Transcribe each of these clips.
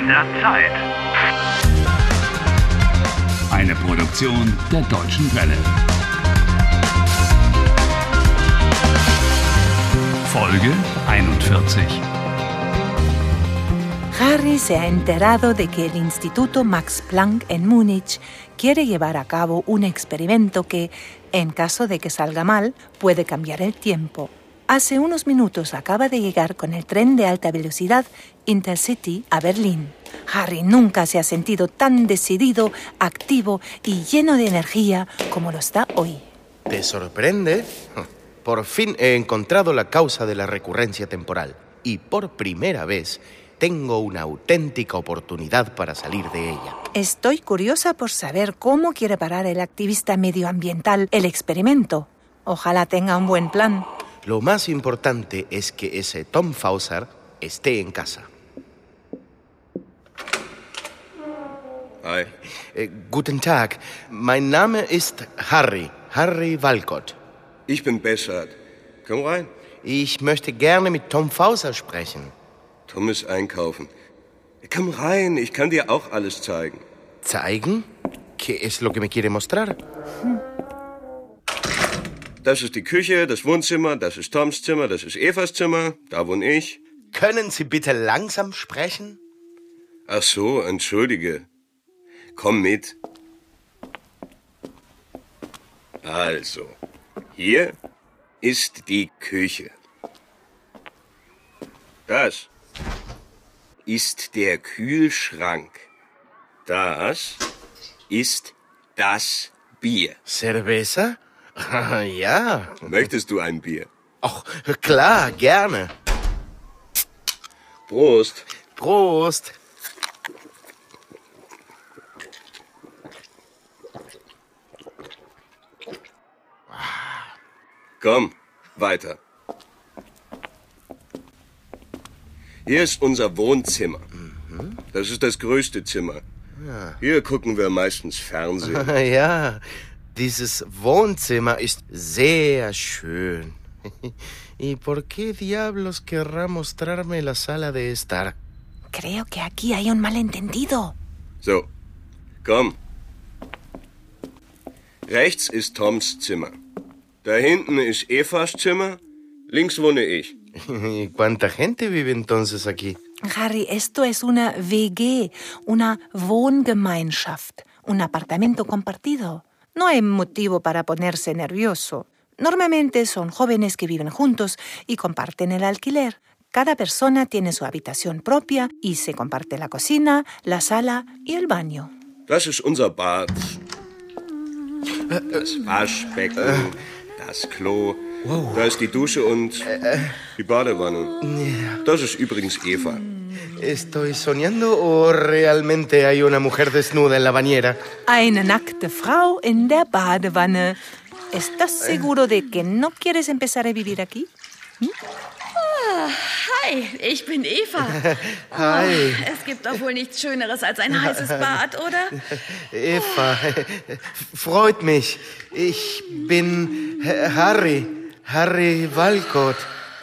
der Zeit. Eine Produktion der Deutschen Welle. Folge 41. Harry se ha enterado de que el Instituto Max Planck en Múnich quiere llevar a cabo un experimento que, en caso de que salga mal, puede cambiar el tiempo. Hace unos minutos acaba de llegar con el tren de alta velocidad Intercity a Berlín. Harry nunca se ha sentido tan decidido, activo y lleno de energía como lo está hoy. ¿Te sorprende? Por fin he encontrado la causa de la recurrencia temporal y por primera vez tengo una auténtica oportunidad para salir de ella. Estoy curiosa por saber cómo quiere parar el activista medioambiental el experimento. Ojalá tenga un buen plan. Lo más importante es que ese Tom Fauser esté en casa. Hi. Guten Tag, mein Name ist Harry Walcott. Ich bin Bessert. Komm rein. Ich möchte gerne mit Tom Fauser sprechen. Tom ist einkaufen. Komm rein, ich kann dir auch alles zeigen. ¿Zeigen? ¿Qué es lo que me quiere mostrar? Das ist die Küche, das Wohnzimmer, das ist Toms Zimmer, das ist Evas Zimmer, da wohne ich. Können Sie bitte langsam sprechen? Ach so, entschuldige. Komm mit. Also, hier ist die Küche. Das ist der Kühlschrank. Das ist das Bier. ¿Cerveza? Ja. Möchtest du ein Bier? Ach, klar, gerne. Prost. Prost. Komm, weiter. Hier ist unser Wohnzimmer. Das ist das größte Zimmer. Ja. Hier gucken wir meistens Fernsehen. Ja, dieses Wohnzimmer ist sehr schön. ¿Y por qué diablos querrá mostrarme la sala de estar? Creo que aquí hay un malentendido. So, komm. Rechts ist Toms Zimmer. Da hinten ist Evas Zimmer. Links wohne ich. ¿Y cuánta gente vive entonces aquí? Harry, esto es una WG, una Wohngemeinschaft, un apartamento compartido. No hay motivo para ponerse nervioso. Normalmente son jóvenes que viven juntos y comparten el alquiler. Cada persona tiene su habitación propia y se comparte la cocina, la sala y el baño. Das ist unser Bad. Das Waschbecken, das Klo. Wow. Da ist die Dusche und die Badewanne. Das ist übrigens Eva. ¿Estoy soñando o realmente hay una mujer desnuda en la bañera? Eine nackte Frau in der Badewanne. ¿Estás seguro de que no quieres empezar a vivir aquí? Hi, ich bin Eva. Hi. Oh, es gibt doch wohl nichts Schöneres als ein heißes Bad, oder? Eva, freut mich. Ich bin Harry Walcott.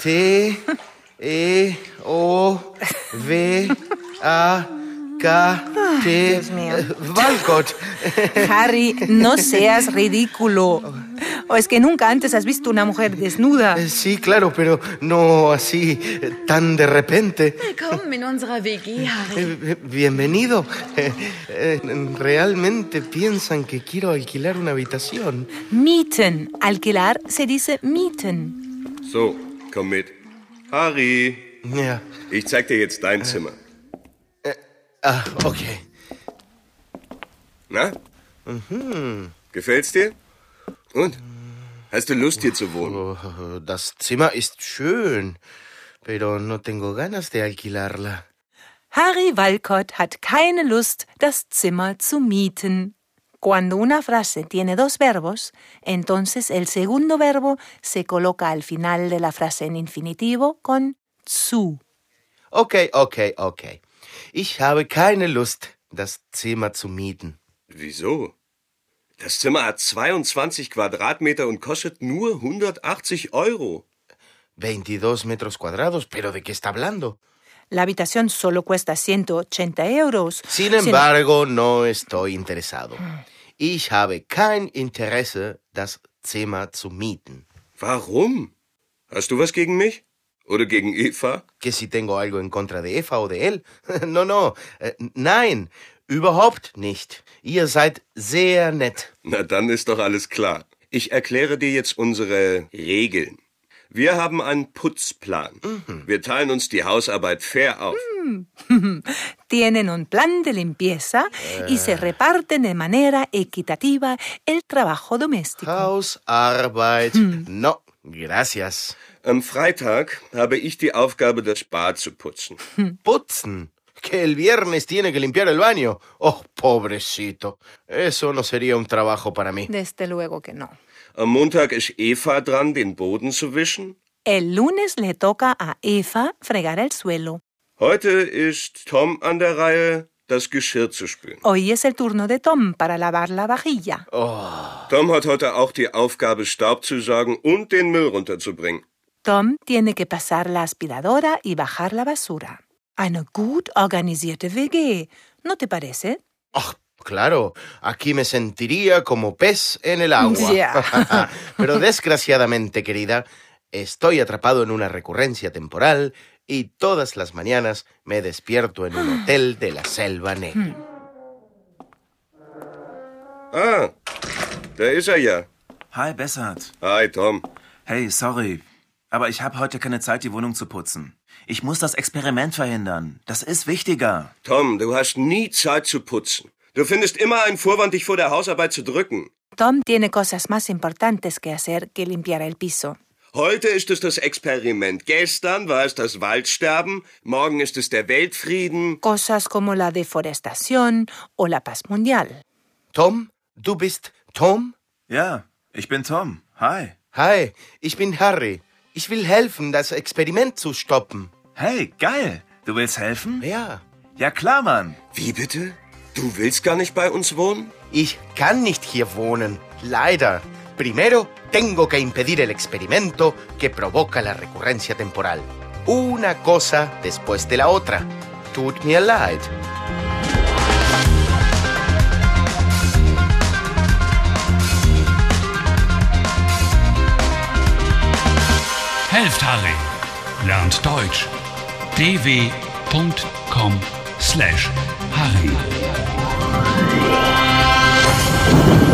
T-E-O-W-A-K-T. Dios mío. Walcott. Harry, no seas ridículo. ¿O es que nunca antes has visto una mujer desnuda? Sí, claro, pero no así, tan de repente. Willkommen in unserer WG, Harry. Bienvenido. ¿Realmente piensan que quiero alquilar una habitación? Mieten. Alquilar se dice mieten. So, komm mit. Harry, Ja. ich zeig dir jetzt dein Zimmer. Okay. Na? Gefällt's dir? Und? Hast du Lust, hier zu wohnen? Oh, das Zimmer ist schön, pero no tengo ganas de alquilarla. Harry Walcott hat keine Lust, das Zimmer zu mieten. Cuando una frase tiene dos verbos, entonces el segundo verbo se coloca al final de la frase en infinitivo con zu. Okay. Ich habe keine Lust, das Zimmer zu mieten. Wieso? Das Zimmer hat 22 Quadratmeter und kostet nur 180 €. 22 metros cuadrados, ¿pero de qué está hablando? La habitación solo cuesta 180 euros. Sin embargo, no estoy interesado. Ich habe kein Interesse, das Zimmer zu mieten. Warum? Hast du was gegen mich? Oder gegen Eva? ¿Que si tengo algo en contra de Eva o de él? No, nein, überhaupt nicht. Ihr seid sehr nett. Na, dann ist doch alles klar. Ich erkläre dir jetzt unsere Regeln. Wir haben einen Putzplan. Wir teilen uns die Hausarbeit fair auf. Tienen un plan de limpieza y se reparten de manera equitativa el trabajo doméstico. Hausarbeit. No, gracias. Am Freitag habe ich die Aufgabe, das Bad zu putzen. Putzen. Que el viernes tiene que limpiar el baño. Oh, pobrecito. Eso no sería un trabajo para mí. Desde luego que no. Am Montag ist Eva dran, den Boden zu wischen. El lunes le toca a Eva fregar el suelo. Heute ist Tom an der Reihe, das Geschirr zu spülen. Hoy es el turno de Tom para lavar la vajilla. Tom hat heute auch die Aufgabe, Staub zu saugen und den Müll runterzubringen. Tom tiene que pasar la aspiradora y bajar la basura. Eine gut organisierte WG, ¿no te parece? Oh, claro, aquí me sentiría como pez en el agua. Ya. Pero desgraciadamente, querida, estoy atrapado en una recurrencia temporal y todas las mañanas me despierto en un hotel de la Selva Negra. Ah, da ist er ja. Hi, Bessert. Hi, Tom. Hey, sorry, aber ich habe heute keine Zeit, die Wohnung zu putzen. Ich muss das Experiment verhindern. Das ist wichtiger. Tom, du hast nie Zeit zu putzen. Du findest immer einen Vorwand, dich vor der Hausarbeit zu drücken. Tom tiene cosas más importantes que hacer que limpiar el piso. Heute ist es das Experiment. Gestern war es das Waldsterben. Morgen ist es der Weltfrieden. Cosas como la deforestación o la paz mundial. Tom, du bist Tom? Ja, ich bin Tom. Hi. Hi, ich bin Harry. Ich will helfen, das Experiment zu stoppen. Hey, geil. Du willst helfen? Ja. Ja, klar, Mann. Wie bitte? Du willst gar nicht bei uns wohnen? Ich kann nicht hier wohnen, leider. Primero, tengo que impedir el experimento que provoca la recurrencia temporal. Una cosa después de la otra. Tut mir leid. Helft Harry. Lernt Deutsch. dw.com/Harry.